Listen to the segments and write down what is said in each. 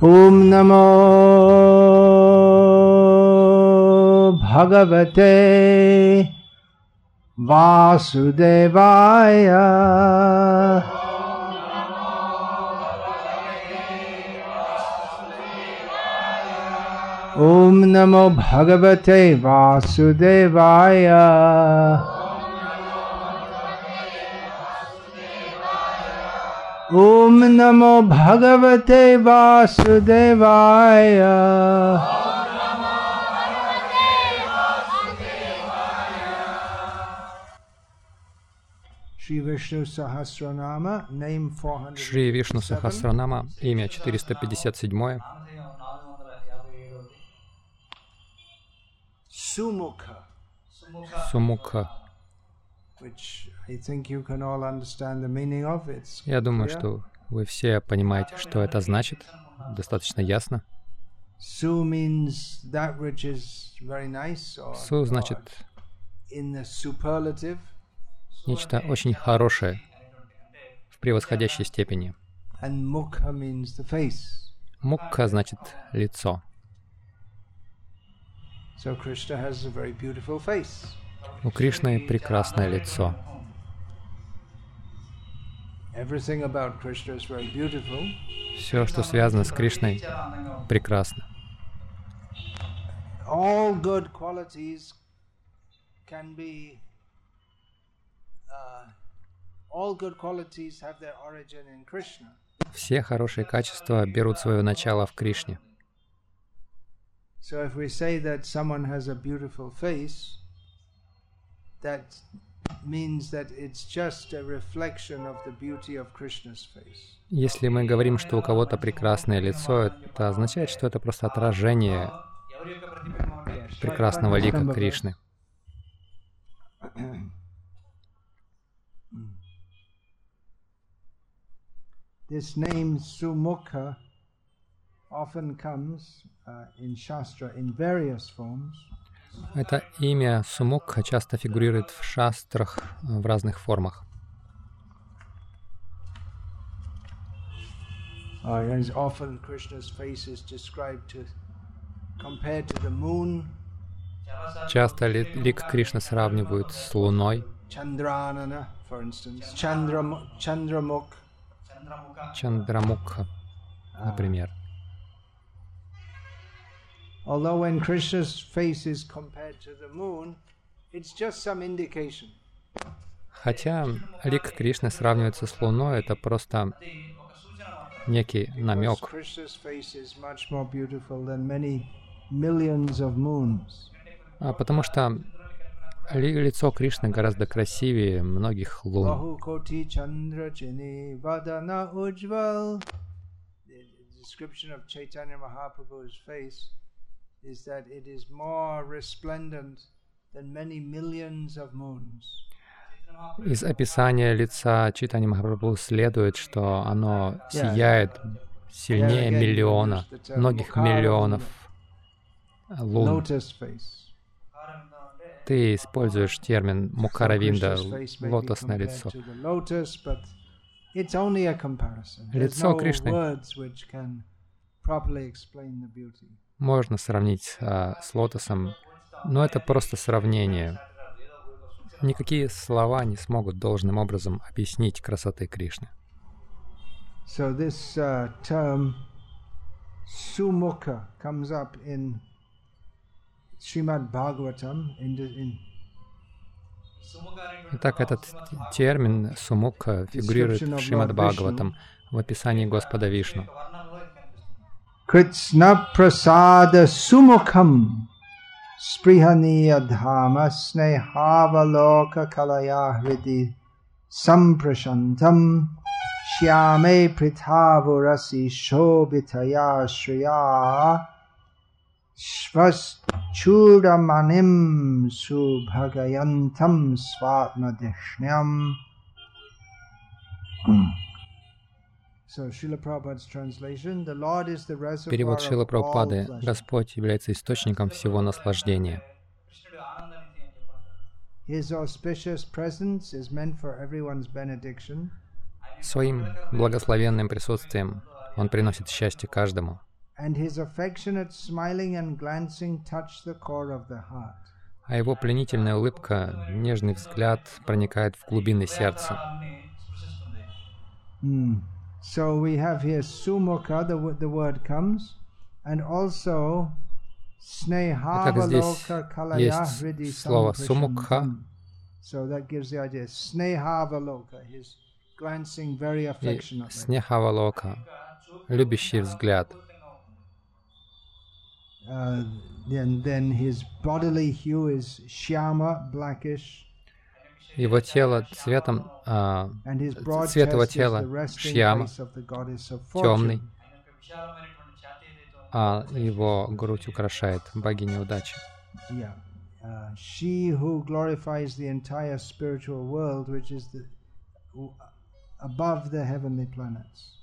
Om Namo Bhagavate Vasudevaya. Om Namo Bhagavate Vasudevaya. Om Namo Bhagavate Vasudevaya. Шри Вишну Сахасранама, name 457. Шри Вишну Сахасранама, имя 457. Sumukha. Сумукха. Which I think you can all understand the meaning of. It's Я думаю, clear. что вы все понимаете, что это значит. Достаточно ясно. Su means that which is very nice, or Су значит in the superlative. нечто очень хорошее в превосходящей степени. And mukha means the face. Мукха значит лицо. So Krishna has a very beautiful face. У Кришны прекрасное лицо. Everything about Krishna is very beautiful. Все, что связано с Кришной, прекрасно. All good qualities can be. All good qualities have their origin in Krishna. Все хорошие качества берут свое начало в Кришне. So if we say that someone has a beautiful face, that means that it's just a reflection of the beauty of Krishna's face. Если мы говорим, что у кого-то прекрасное лицо, это означает, что это просто отражение прекрасного лика Кришны. This name Sumukha often comes in Shastra in various forms. Это имя Сумукха часто фигурирует в шастрах в разных формах. As often Krishna's face is described compared to the moon. Часто лик Кришны сравнивают с Луной. Chandranana, for instance. Chandramukh. Чандрамукха, например. Although when Krishna's face is compared to the moon, it's just some indication. Хотя лик Кришны сравнивается с Луной, это просто некий намек. Krishna's face is much more beautiful than many millions of moons. Потому что лицо Кришны гораздо красивее многих лун. Bahukoti Chandra Chini Vadana Ujval. The description of Chaitanya Mahaprabhu's face is that it is more resplendent than many millions of moons. Из описания лица Чайтаньи Махапрабху следует, что оно сияет сильнее миллиона, многих миллионов лун. Lotus face. Ты используешь термин мукхаравинда, лотосное лицо. Лицо Кришны можно сравнить с лотосом, но это просто сравнение. Никакие слова не смогут должным образом объяснить красоты Кришны. So this term Sumukha comes up in Srimad Bhagavatam. Итак, этот термин Сумукха фигурирует в Шримад Бхагаватам в описании Господа Вишну. Krishna prasada sumukham sprihaniya dhama snehavaloka kalaya hridi samprashantam shyame prithavurasi shobitaya shriya Shvaschuramanim subhagayantam svatmadishnyam. Перевод Шрилы Прабхупады. Господь является источником всего наслаждения. Своим благословенным присутствием Он приносит счастье каждому. and his affectionate smiling and glancing touch the core of the heart. А его пленительная улыбка, нежный взгляд проникает в глубины сердца. So we have here sumukha, the word comes, and also snehavaloka kalaya hridi samprisham. So that gives the idea. Snehavaloka, his glancing very affectionately. Снехавалока, любящий взгляд. Then his bodily hue is shyama, blackish. Его тело цветом, цвет его тела шьяма, темный, а его грудь украшает богиня удачи. She who glorifies the entire spiritual world, which is above the heavenly planets.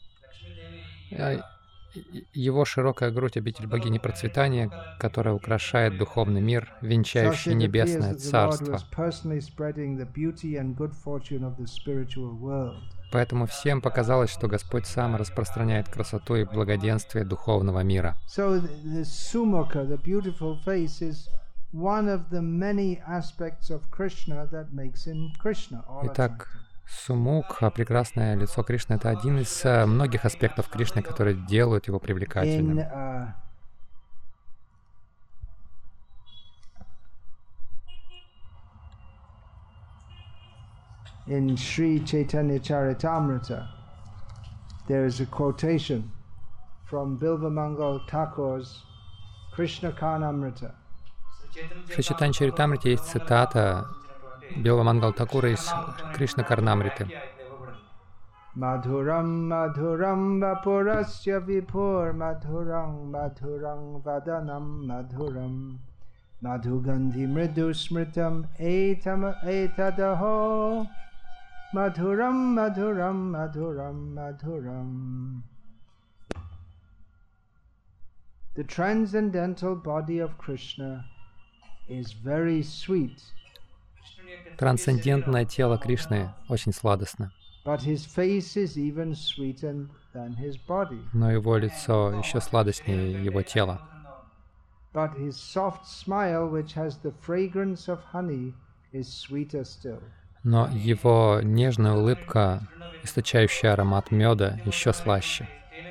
Его широкая грудь — обитель богини процветания, которая украшает духовный мир, венчающий небесное царство. Поэтому всем показалось, что Господь сам распространяет красоту и благоденствие духовного мира. Итак, Сумукха, прекрасное лицо Кришны, это один из многих аспектов Кришны, которые делают его привлекательным. In Sri Chaitanya Charitamrita, there is a quotation from Bilvamangal Thakur's Krishna Karnamrita. В Шри Чайтанья Чаритамрите есть цитата Билвамангал Такура из Кришна Карнамриты. Madhuram madhuram vapurasya vipur madhuram madhuram vadanam madhuram madhugandhi mridu smritam etadaho madhuram madhuram madhuram madhuram. The transcendental body of Krishna is very sweet. Трансцендентное тело Кришны очень сладостно. Но его лицо еще сладостнее его тела. Но его нежная улыбка, источающая аромат меда, еще слаще.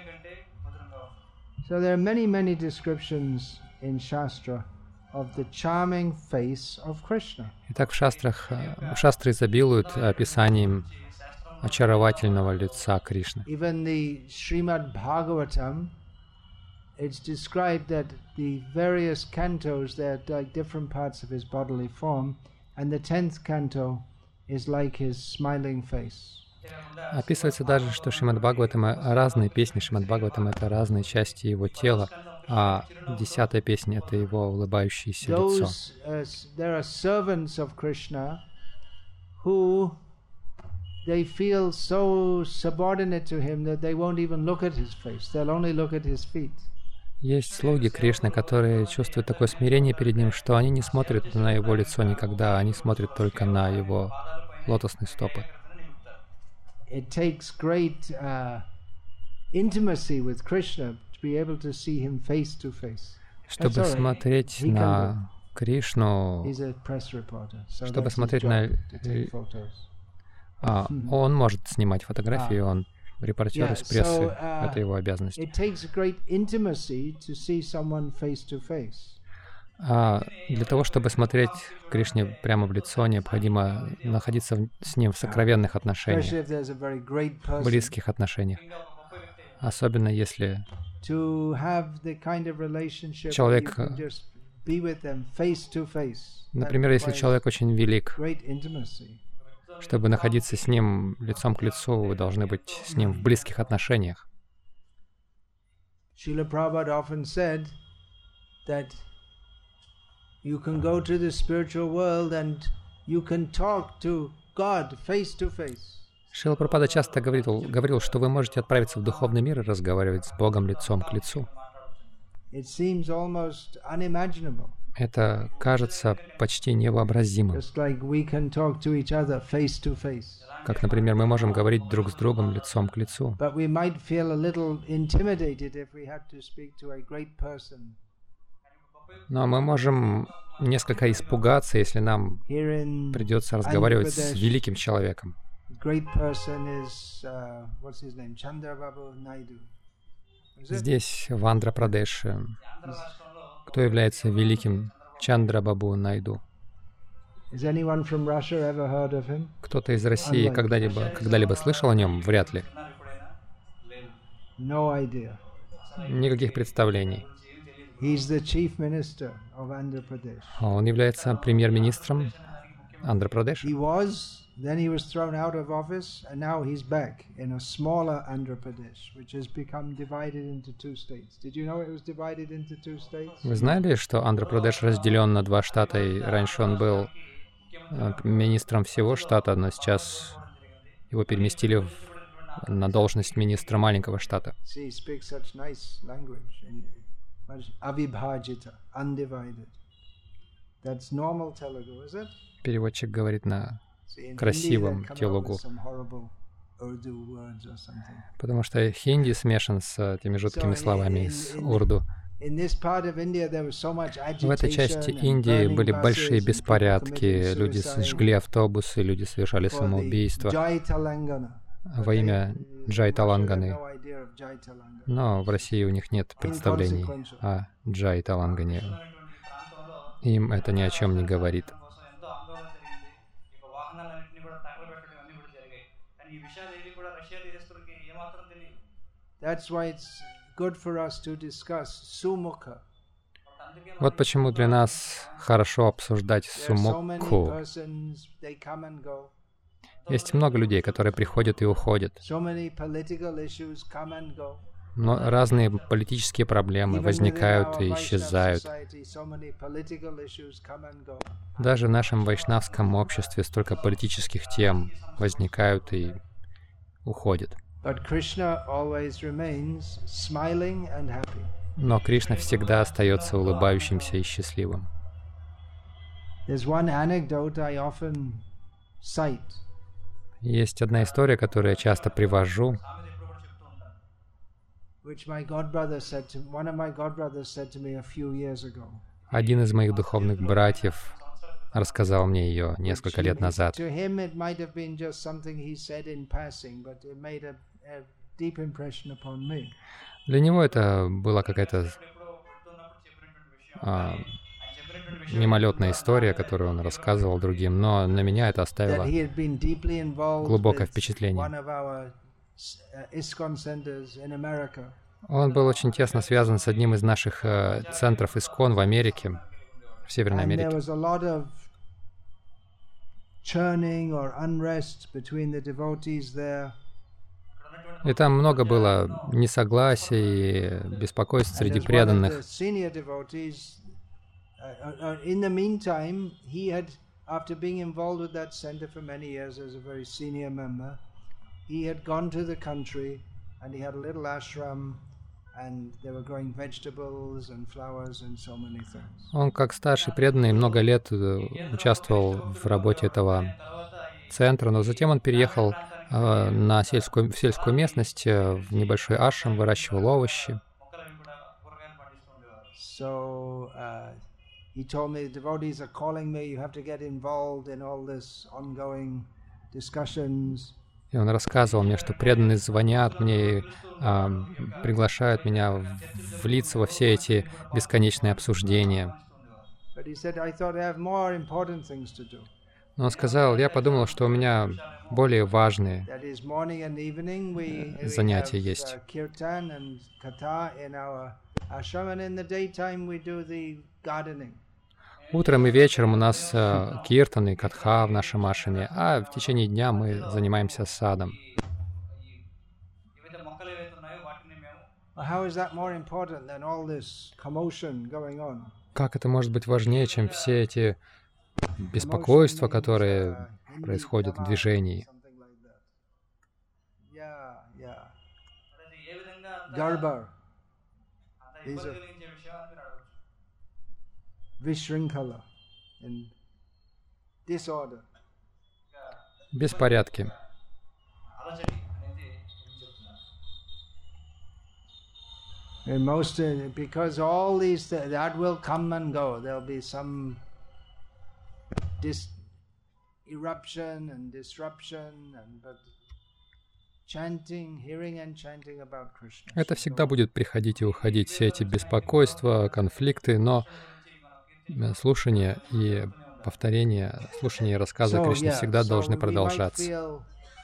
Итак, в шастры изобилуют описанием очаровательного лица Кришны. Even the Srimad Bhagavatam, it's described that the various cantos, they're like different parts of his bodily form, and the 10th canto is like his smiling face. Описывается даже, что Шримад Бхагаватам, разные песни Шримад Бхагаватам — это разные части его тела, а 10-я песня — это его улыбающееся лицо. There are servants of Krishna who they feel so subordinate to him that they won't even look at his face. They'll only look at his feet. Есть слуги Кришны, которые чувствуют такое смирение перед ним, что они не смотрят на его лицо никогда, они смотрят только на его лотосные стопы. It takes great intimacy with Krishna to be able to see him face to face. Чтобы смотреть на Кришну, чтобы смотреть на... Он может снимать фотографии, он репортер из прессы, это его обязанность. Для того, чтобы смотреть Кришне прямо в лицо, необходимо находиться с ним в сокровенных отношениях, близких отношениях. Особенно если человек, например, если человек очень велик, чтобы находиться с ним лицом к лицу, вы должны быть с ним в близких отношениях. Srila Prabhupada often said that you can go to the spiritual world and you can talk to God face to face. Шрила Прабхупада часто говорил, что вы можете отправиться в духовный мир и разговаривать с Богом лицом к лицу. это кажется почти невообразимым. Как, например, мы можем говорить друг с другом лицом к лицу. Но мы можем несколько испугаться, если нам придется разговаривать с великим человеком. Здесь, в Андхра-Прадеше, кто является великим Чандрабабу Найду? Кто-то из России когда-либо слышал о нем? Вряд ли. Никаких представлений. Он является премьер-министром Андхра-Прадеша. Then he was thrown out of office, and now he's back in a smaller Andhra Pradesh, which has become divided into two states. Did you know it was divided into two states? Вы знали, что Андхра-Прадеш разделен на два штата, и раньше он был министром всего штата, но сейчас его переместили на должность министра маленького штата. See, he speaks such nice language. Avibhajita, undivided. That's normal Telugu, is it? Переводчик говорит на красивом телугу, потому что хинди смешан с этими жуткими словами из урду. В этой части Индии были большие беспорядки, люди сжгли автобусы, люди совершали самоубийство во имя Джай-Таланганы. Но в России у них нет представлений о Джай-Талангане. Им это ни о чем не говорит. Вот почему для нас хорошо обсуждать сумокку. Есть много людей, которые приходят и уходят. Но разные политические проблемы возникают и исчезают. Даже в нашем вайшнавском обществе столько политических тем возникают и уходят. Но Кришна всегда остается улыбающимся и счастливым. Есть одна история, которую я часто привожу. Один из моих духовных братьев рассказал мне ее несколько лет назад. Для него это была какая-то мимолетная история, которую он рассказывал другим, но на меня это оставило глубокое впечатление. Он был очень тесно связан с одним из наших центров Искон в Америке, в Северной Америке. И там много было несогласий и беспокойств среди преданных. Он, как старший преданный, много лет участвовал в работе этого центра, но затем он переехал в сельскую местность, в небольшой ашрам, выращивал овощи. И он рассказывал мне, что преданные звонят мне и приглашают меня влиться во все эти бесконечные обсуждения. Но он сказал, я подумал, что у меня более важные занятия есть. Утром и вечером у нас киртан и катха в нашем ашраме, а в течение дня мы занимаемся садом. Как это может быть важнее, чем все эти беспокойства, которые происходят в движении? vishrinkala, in disorder. Беспорядки. And most, because all these, that will come and go. There'll be some eruption and disruption, but chanting, hearing and chanting about Krishna. Это всегда будет приходить и уходить, все эти беспокойства, конфликты, но слушание и повторение, слушание и рассказы о Кришне всегда должны продолжаться.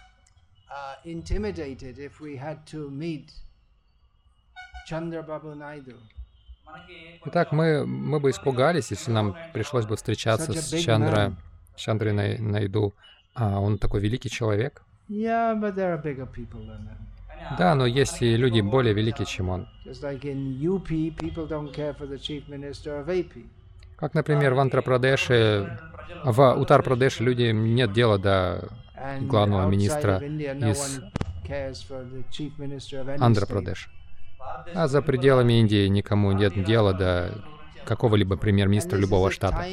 Итак, мы бы испугались, если нам пришлось бы встречаться с Чандрой Найду. А он такой великий человек. Да, но есть и люди более великие, чем он. Как, например, в Уттар-Прадеше людям нет дела до главного министра из Андхра-Прадеша. А за пределами Индии никому нет дела до какого-либо премьер-министра любого штата.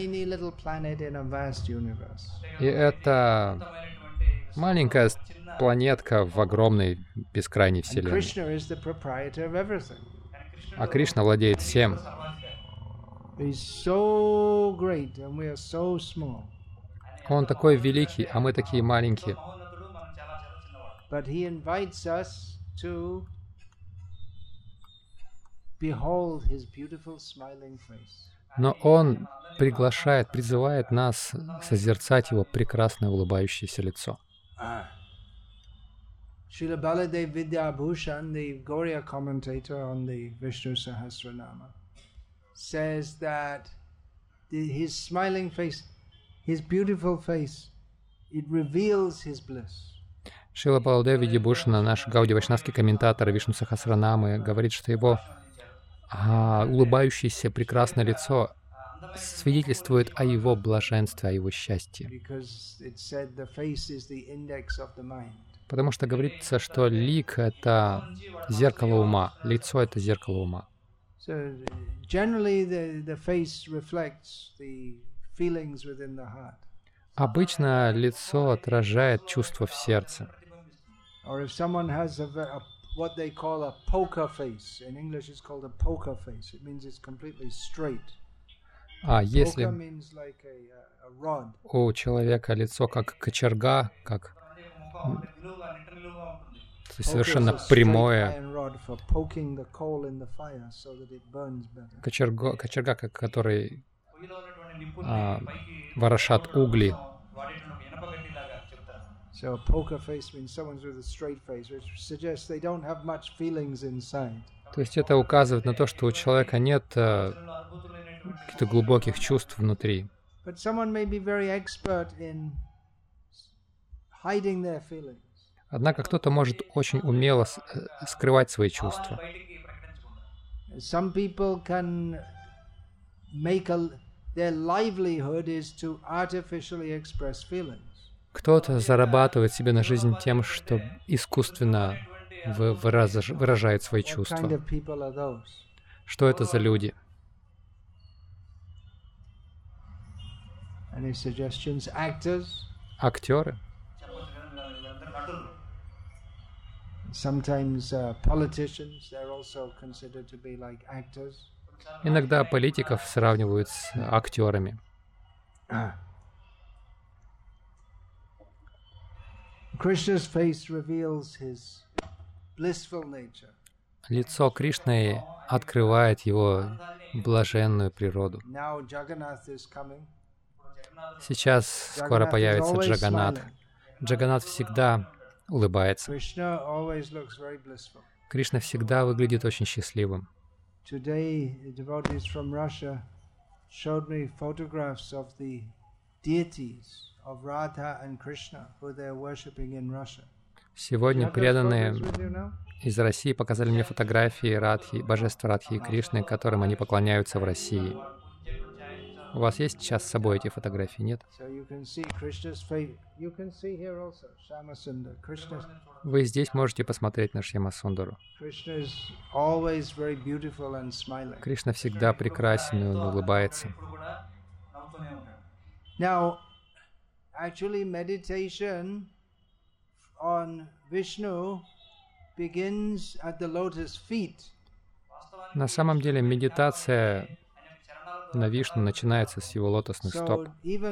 И это маленькая планетка в огромной бескрайней вселенной. А Кришна владеет всем. Он такой великий, а мы такие маленькие. Но Он призывает нас созерцать Его прекрасное улыбающееся лицо. Srila Baladev Vidyabhushan, the Gauriya commentator on the Vishnu Sahasranama, says that his smiling face, his beautiful face, it reveals his bliss. Шрила Баладева Видьябхушана, наш Гаудия Вайшнавский комментатор Вишну Сахасранамы, говорит, что его улыбающееся прекрасное лицо свидетельствует о его блаженстве, о его счастье. Потому что говорится, что лик — это зеркало ума, лицо — это зеркало ума. Обычно лицо отражает чувства в сердце. А если у человека лицо как кочерга, как совершенно прямое, кочерга, который ворошат угли. То есть это указывает на то, что у человека нет каких-то глубоких чувств внутри. Однако кто-то может очень умело скрывать свои чувства. Кто-то зарабатывает себе на жизнь тем, что искусственно выражает свои чувства. Что это за люди? Актеры. Иногда политиков сравнивают с актерами. Лицо Кришны открывает его блаженную природу. Сейчас скоро появится Джаганнат. Джаганнат всегда улыбается. Кришна всегда выглядит очень счастливым. Сегодня преданные из России показали мне фотографии Радхи, божеств Радхи и Кришны, которым они поклоняются в России. У вас есть сейчас с собой эти фотографии, нет? Вы здесь можете посмотреть на Шьямасундару. Кришна всегда прекрасен, и он улыбается. Now, actually, meditation on Vishnu begins at the lotus feet. На самом деле медитация на Вишну начинается с его лотосных стоп.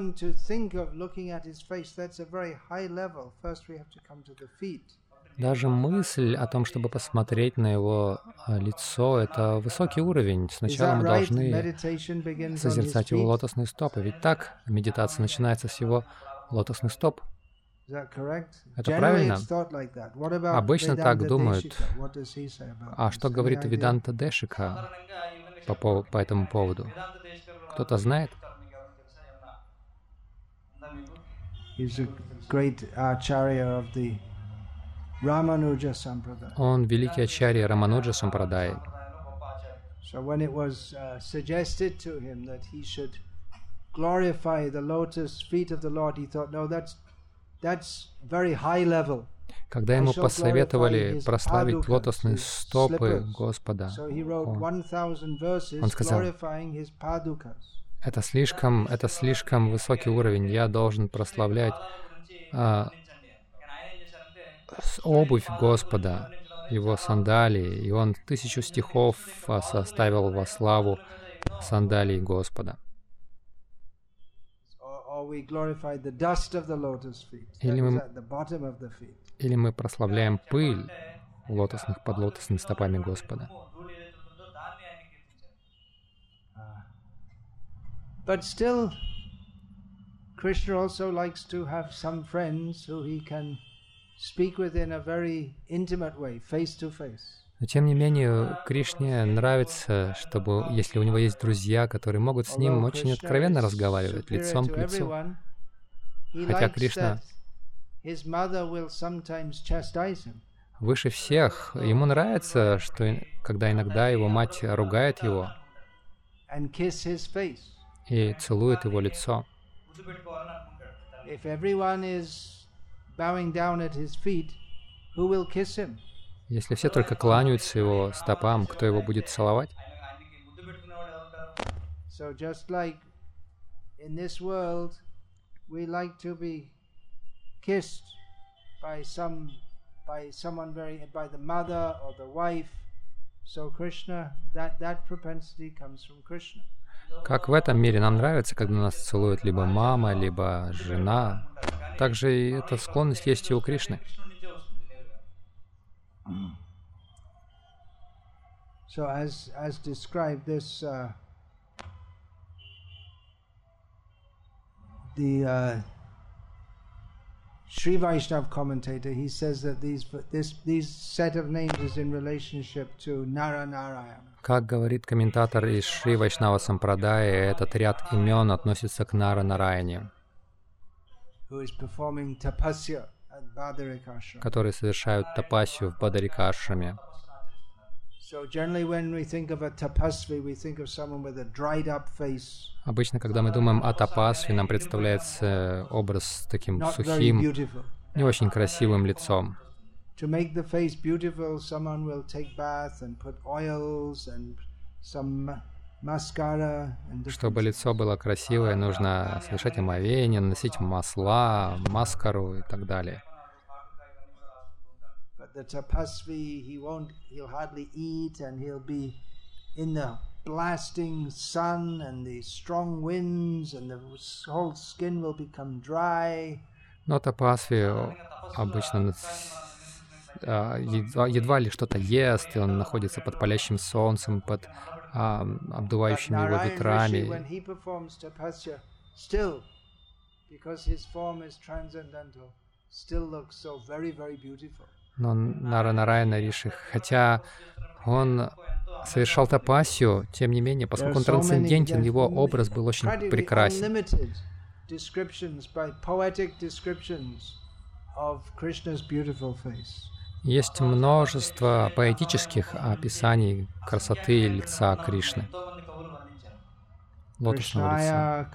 Даже мысль о том, чтобы посмотреть на его лицо, это высокий уровень. Сначала мы должны созерцать его лотосные стопы. Ведь так медитация начинается с его лотосных стоп. Это правильно? Обычно так думают. А что говорит Веданта Дешика по этому поводу? Кто-то знает? Он великий ачарья Рамануджа Сампрадай. Когда ему посоветовали прославить лотосные стопы Господа, он сказал, это слишком высокий уровень, я должен прославлять обувь Господа, его сандалии, и он 1000 стихов составил во славу сандалий Господа. Или мы прославляем пыль под лотосными стопами Господа. But still, Krishna also likes to have some friends who he can speak with in a very intimate way, face to face. Но тем не менее, Кришне нравится, чтобы, если у него есть друзья, которые могут с ним очень откровенно разговаривать, лицом к лицу. Хотя Кришна выше всех, ему нравится, что когда иногда его мать ругает его и целует его лицо. Если все только кланяются его стопам, кто его будет целовать? Как в этом мире нам нравится, когда нас целует либо мама, либо жена, также и эта склонность есть и у Кришны. So as described this, the Sri Vaishnav commentator, he says that these set of names is in relationship to Nara Narayana. Как говорит комментатор из Шри Вайшнава Сампрадая, этот ряд имен относится к Нара Нараяне, которые совершают тапасию в Бадарика-ашраме. Обычно, когда мы думаем о тапасве, нам представляется образ с таким сухим, не очень красивым лицом. Чтобы лицо было красивое, нужно совершать омовение, наносить масла, маскару и так далее. The tapasvi, he'll hardly eat, and he'll be in the blasting sun and the strong winds, and the whole skin will become dry. Но тапасви обычно едва ли что-то ест, и он находится под палящим солнцем, под обдувающими его ветрами. Но Нара Нараяна Риши, хотя он совершал тапасию, тем не менее, поскольку он трансцендентен, его образ был очень прекрасен. Есть множество поэтических описаний красоты лица Кришны, лотосного лица.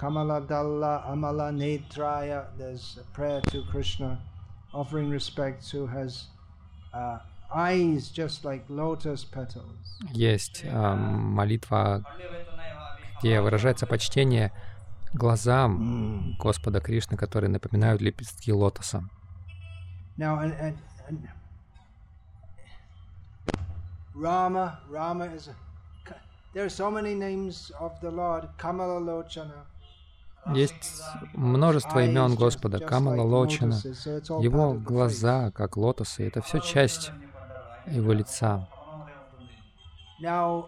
Есть молитва, где выражается почтение глазам Господа Кришны, которые напоминают лепестки лотоса. Now, Rama is there are so many names of the Lord. Kamalalochana. Есть множество имен Господа. Камала Лочана, Его глаза, как лотосы, это все часть Его лица. Now,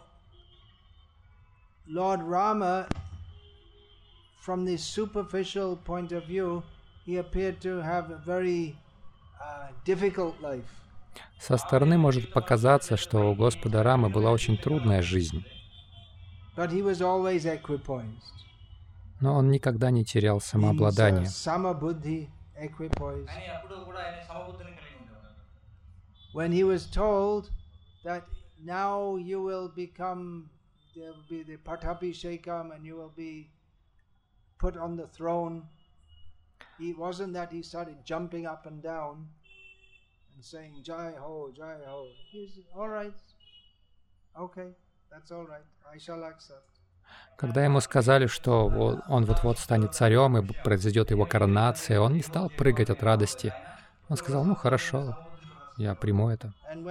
Lord Rama, from the superficial point of view, he appeared to have a very difficult life. Со стороны может показаться, что у Господа Рамы была очень трудная жизнь. But he was always equipoised. Но он никогда не терял самообладание. When he was told that now you will become, there will be the Pattabhishekam and you will be put on the throne, it wasn't that he started jumping up and down and saying Jai Ho, Jai Ho. He said, all right, okay, that's all right, I shall accept. Когда ему сказали, что он вот-вот станет царем и произойдет его коронация, он не стал прыгать от радости. Он сказал, ну хорошо, я приму это.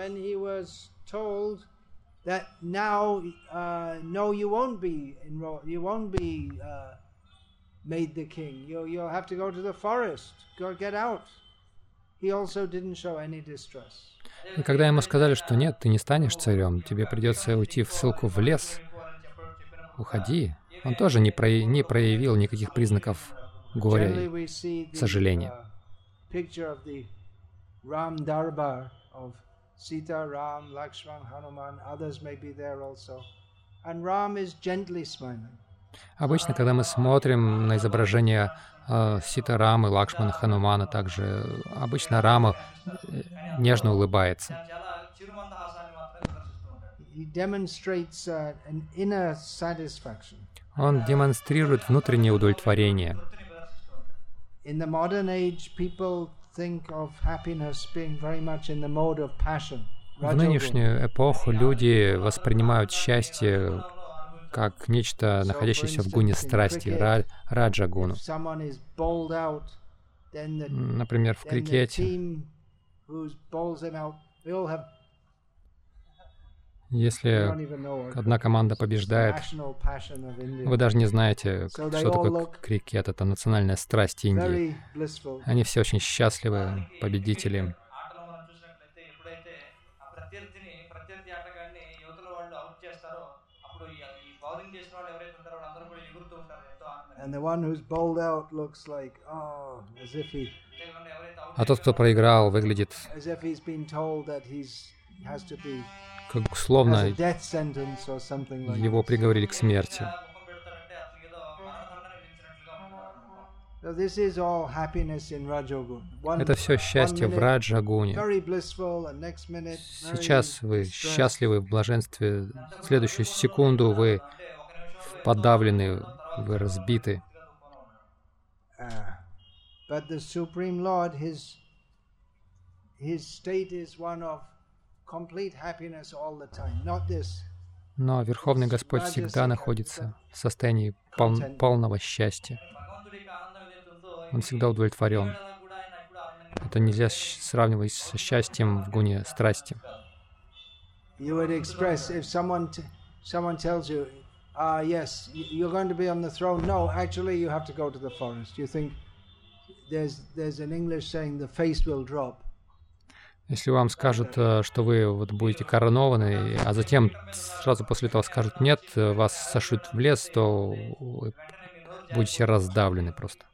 И когда ему сказали, что нет, ты не станешь царем, тебе придется уйти в ссылку в лес, уходи. Он тоже не проявил никаких признаков горя и сожаления. Обычно, когда мы смотрим на изображение Сита Рамы, Лакшмана, Ханумана, также обычно Рама нежно улыбается. Он демонстрирует внутреннее удовлетворение. В нынешнюю эпоху люди воспринимают счастье как нечто, находящееся в гуне страсти, раджа-гуну. Например, в крикете. Если одна команда побеждает, вы даже не знаете, что такое крикет. Это национальная страсть Индии. Они все очень счастливы, победители. А тот, кто проиграл, выглядит как словно его приговорили к смерти. Это все счастье в раджа-гуне. Сейчас вы счастливы в блаженстве, в следующую секунду вы подавлены, вы разбиты. Но Верховный Господь всегда находится в состоянии полного счастья. Он всегда удовлетворен. Это нельзя сравнивать со счастьем в гуне страсти. Yes, you're going to be on the throne. No, actually, you have to go to the forest. You think there's an English saying the face will drop. Если вам скажут, что вы вот будете коронованы, а затем сразу после этого скажут нет, вас сошлют в лес, то вы будете раздавлены просто.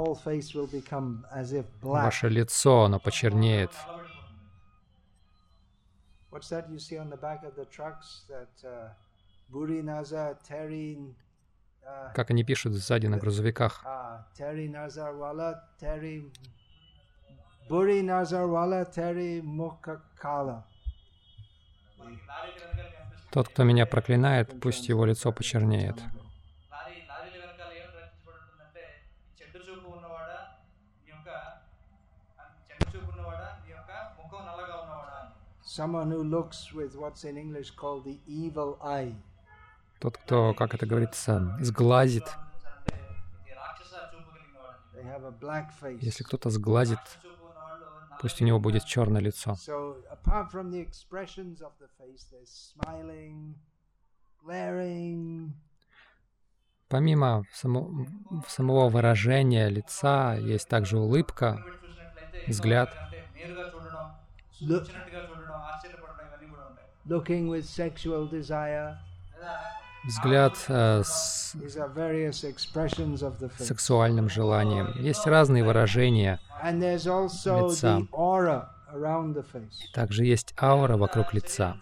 Ваше лицо, оно почернеет. Как они пишут сзади на грузовиках. Тот, кто меня проклинает, пусть его лицо почернеет. Тот, кто, как это говорится, сглазит, Если кто-то сглазит, пусть у него будет черное лицо. Помимо самого выражения лица, есть также улыбка, взгляд. Взгляд с сексуальным желанием. Есть разные выражения лица. Также есть аура вокруг лица.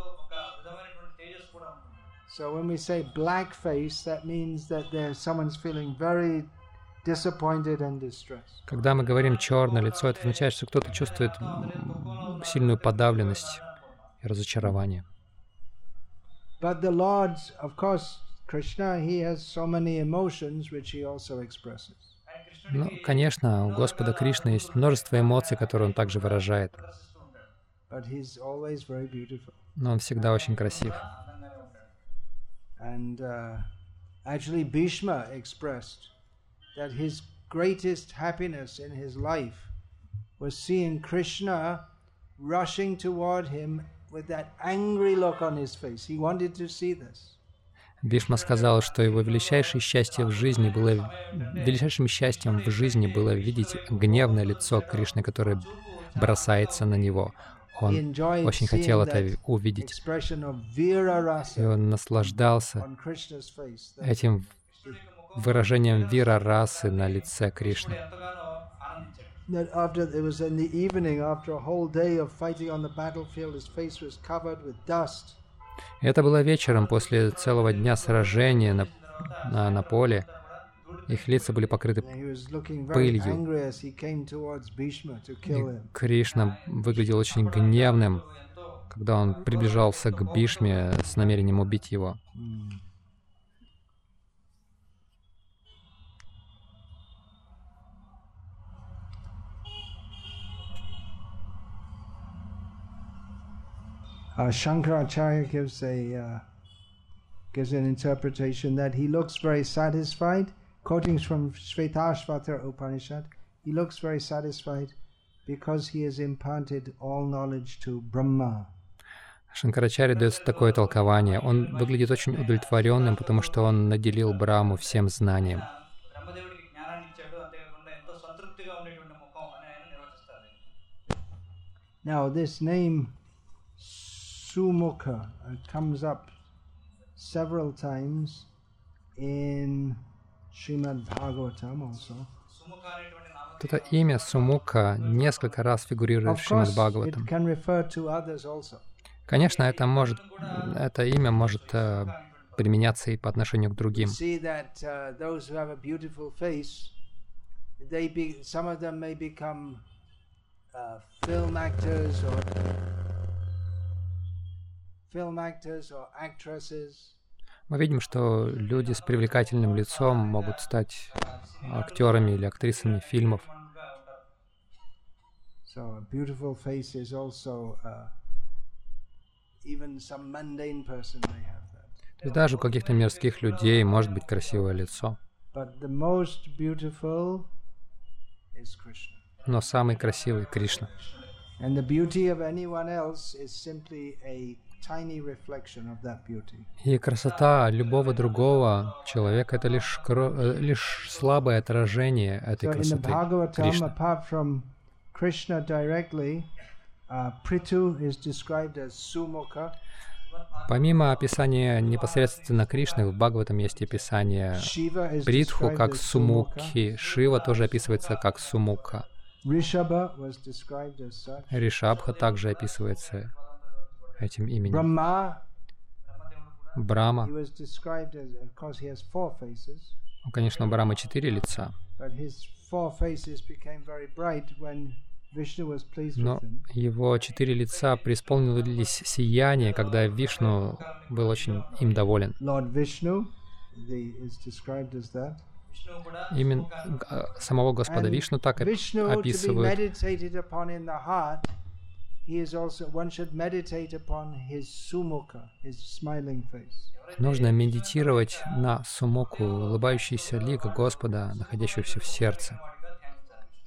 Когда мы говорим черное лицо, это означает, что кто-то чувствует сильную подавленность и разочарование. But the Lord, of course, Krishna, he has so many emotions which he also expresses. Ну, конечно, у Господа Кришны есть множество эмоций, которые Он также выражает. But he's always very beautiful. Но Он всегда очень красив. And actually, Bhishma expressed that his greatest happiness in his life was seeing Krishna rushing toward him with that angry look on his face. He wanted to see this. Бхишма сказал, что его величайшим счастьем в жизни было видеть гневное лицо Кришны, которое бросается на него. Он очень хотел это увидеть. И он наслаждался этим выражением вира-расы на лице Кришны. Это было вечером после целого дня сражения на поле. Их лица были покрыты пылью. И Кришна выглядел очень гневным, когда он приближался к Бхишме с намерением убить его. Shankaracharya gives an interpretation that he looks very satisfied, quoting from Shvetashvatara Upanishad, he looks very satisfied because he has imparted all knowledge to Brahma. Шанкарачарья дает такое толкование. Он выглядит очень удовлетворенным, потому что он наделил Брахму всем знанием. Now this name Sumukha comes up several times in Srimad Bhagavatam also. Это имя Сумука несколько раз фигурирует в Шримад Бхагаватам. Конечно, это имя может применяться и по отношению к другим. Мы видим, что люди с привлекательным лицом могут стать актерами или актрисами фильмов. То есть даже у каких-то мирских людей может быть красивое лицо. Но самый красивый — Кришна. И красота любого другого человека — это лишь слабое отражение этой красоты Кришны. Помимо описания непосредственно Кришны, в Бхагаватам есть описание Притху как Сумукхи. Шива тоже описывается как Сумукха. Ришабха также описывается этим именем. Брахма. Ну, конечно, у Брахмы 4 лица. Но его 4 лица преисполнились сияние, когда Вишну был очень им доволен. Именно самого Господа Вишну так описывают. Нужно медитировать на сумуку, улыбающийся лик Господа, находящегося в сердце.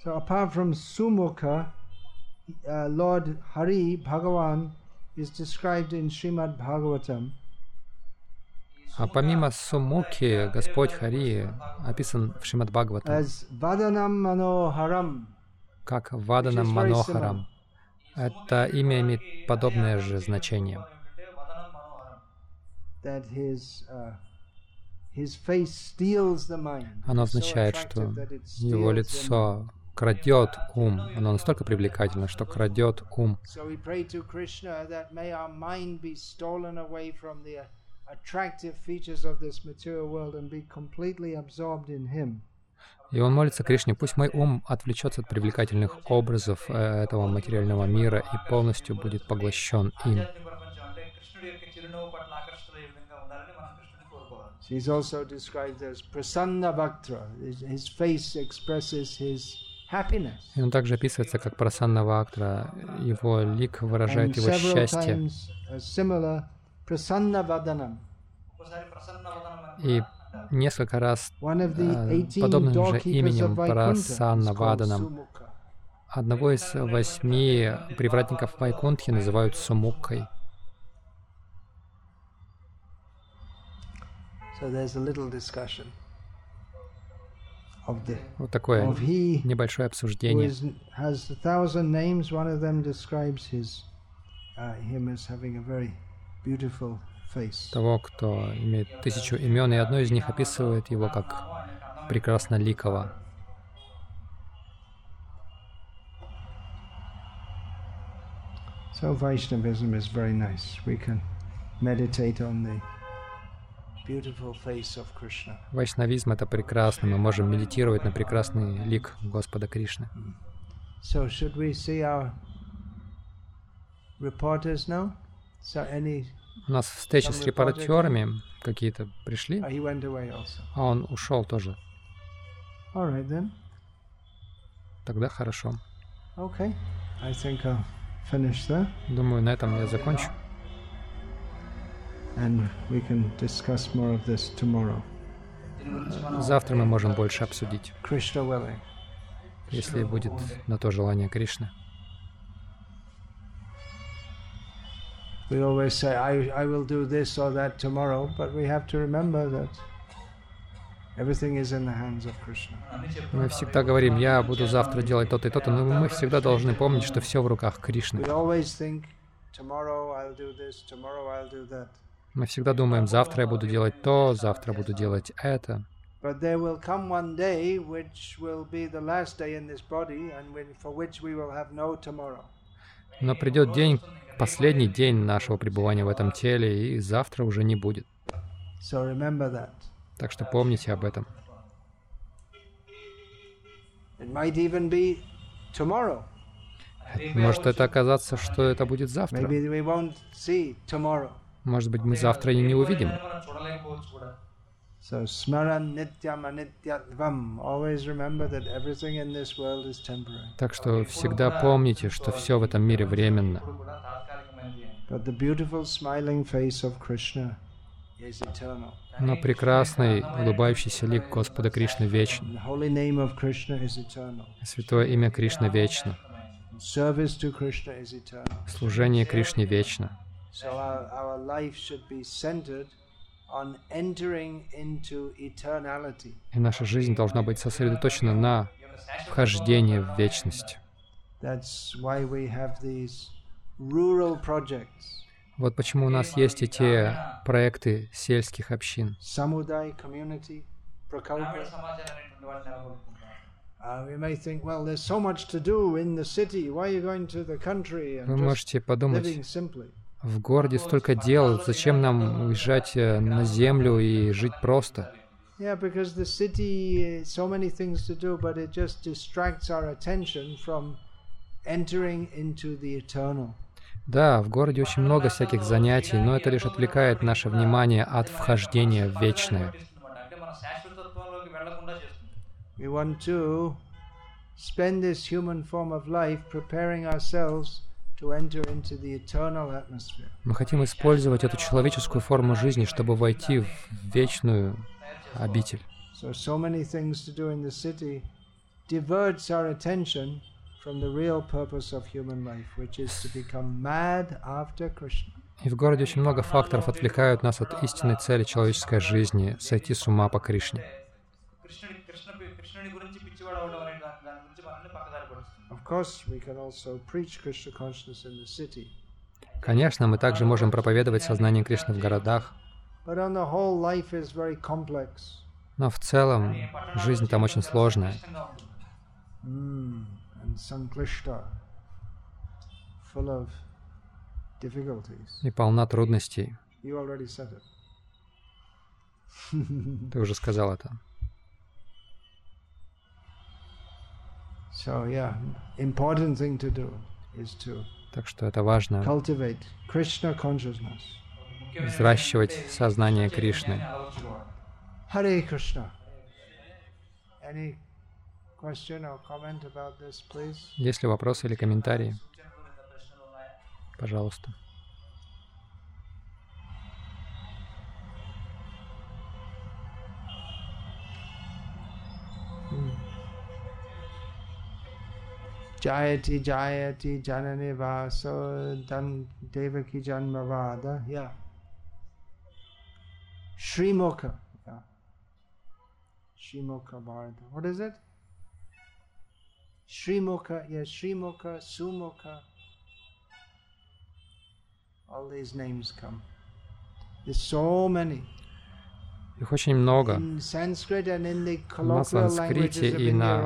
So apart from Sumukha, Lord Hari Bhagavan is described in Srimad Bhagavatam. А помимо Сумуки, Господь Хари описан в Шримад Бхагаватам as Vadanam Manoharam. Как Ваданам Манохарам. Это имя имеет подобное же значение. That his face steals the mind. Оно означает, что его лицо крадет ум. Оно настолько привлекательно, что крадет ум. So we pray to Krishna that may our mind be stolen away from the attractive features of this material world and be completely absorbed in Him. И он молится Кришне, пусть мой ум отвлечется от привлекательных образов этого материального мира и полностью будет поглощен им. She's also described as Prasanna Bhaktra. His face expresses his happiness. И он также описывается как Прасанна Вактра. Его лик выражает его счастье. И несколько раз подобным же именем Прасанна Ваданам одного из 8 привратников Вайкунтхи называют Сумуккой. Вот такое небольшое обсуждение. Того, кто имеет 1000 имен, и одно из них описывает его как прекрасноликого. So Vaishnavism is very nice. We can meditate on the beautiful face of Krishna. Вайшнавизм — это прекрасно. Мы можем медитировать на прекрасный лик Господа Кришны. So should we see our reporters now? So any У нас встречи с репортерами какие-то пришли, he went away also. а он ушел тоже. All right then. Тогда хорошо. Okay. I think I'll finish there. Думаю, на этом я закончу. And we can discuss more of this tomorrow. Завтра мы можем больше обсудить, Krishna willing. если будет на то желание Кришны. We always say, I will do this or that tomorrow, but we have to remember that everything is in the hands of Krishna. Мы всегда говорим, я буду завтра делать то-то и то-то, но мы всегда должны помнить, что все в руках Кришны. We always think, tomorrow I'll do this, tomorrow I'll do that. Мы всегда думаем, завтра я буду делать то, завтра буду делать это. But there will come one day which will be the last day in this body and for which we will have no tomorrow. Но придет день, последний день нашего пребывания в этом теле, и завтра уже не будет. So remember that. Так что помните об этом. It might even be tomorrow. Может это оказаться, что это будет завтра. Maybe we won't see tomorrow. Может быть, мы завтра и не увидим. So smaran nityam anityatvam. Always remember that everything in this world is temporary. Так что всегда помните, что все в этом мире временно. But the beautiful smiling face of Krishna is eternal. Но прекрасный, улыбающийся лик Господа Кришны вечен. The holy name of Krishna is eternal. Святое имя Кришны вечно. Service to Krishna is eternal. Служение Кришне вечно. So our life should be centered on entering into eternality. И наша жизнь должна быть сосредоточена на вхождении в вечность. That's why we have these rural projects. Вот почему у нас есть эти проекты сельских общин. Samudaya community, prakalpa. We may think, well, there's so much to do in the city. Why are you going to the country and Вы just можете подумать, living simply? в городе столько дел, зачем нам уезжать на землю и жить просто? Yeah, because the city, so many things to do, but it just distracts our attention from entering into the eternal. Да, в городе очень много всяких занятий, но это лишь отвлекает наше внимание от вхождения в вечное. We want to spend this human form of life preparing ourselves to enter into the eternal atmosphere. Мы хотим использовать эту человеческую форму жизни, чтобы войти в вечную обитель. So many things to do in the city, diverts our attention from the real purpose of human life, which is to become mad after Krishna. И в городе очень много факторов отвлекают нас от истинной цели человеческой жизни — сойти с ума по Кришне. Конечно, мы также можем проповедовать сознание Кришны в городах, но в целом жизнь там очень сложная и полна трудностей. Ты уже сказал это. Так что это важно — взращивать сознание Кришны. Харе Кришна. Есть ли вопросы или комментарии? Пожалуйста. Jayati Jayati Janane Vaso Dan Devaki Janmavada. Yeah. Srimukha. Yeah. Srimukha Bharata. What is it? Srimukha, yes, Srimukha, Sumukha. All these names come. There's so many. Их очень много. На санскрите и на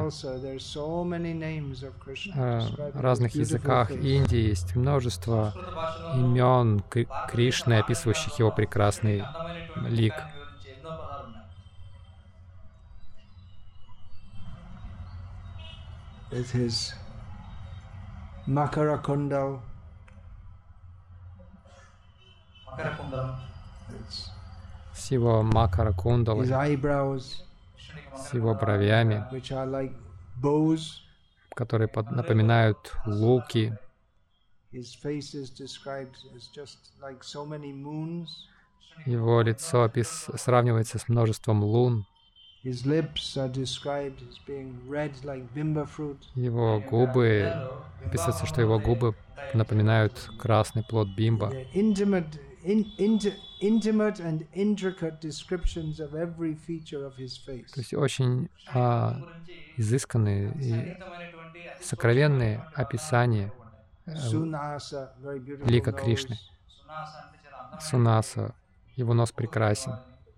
разных языках Индии есть множество имен Кришны, описывающих его прекрасный лик. Makarakundal. С его макара кундалой, с его бровями, которые напоминают луки. Его лицо сравнивается с множеством лун. Его губы, описывается, что его губы напоминают красный плод бимба. Intimate and intricate descriptions of every feature of his face. То есть очень изысканные и сокровенные описания лика Кришны. Сунаса, его нос прекрасен.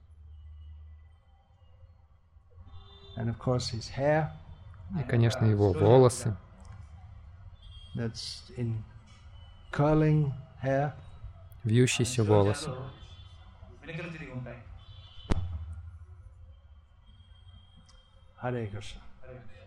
And of course his hair. И, конечно, его волосы. That's in curling hair. Вьющиеся волосы. Hare Krishna.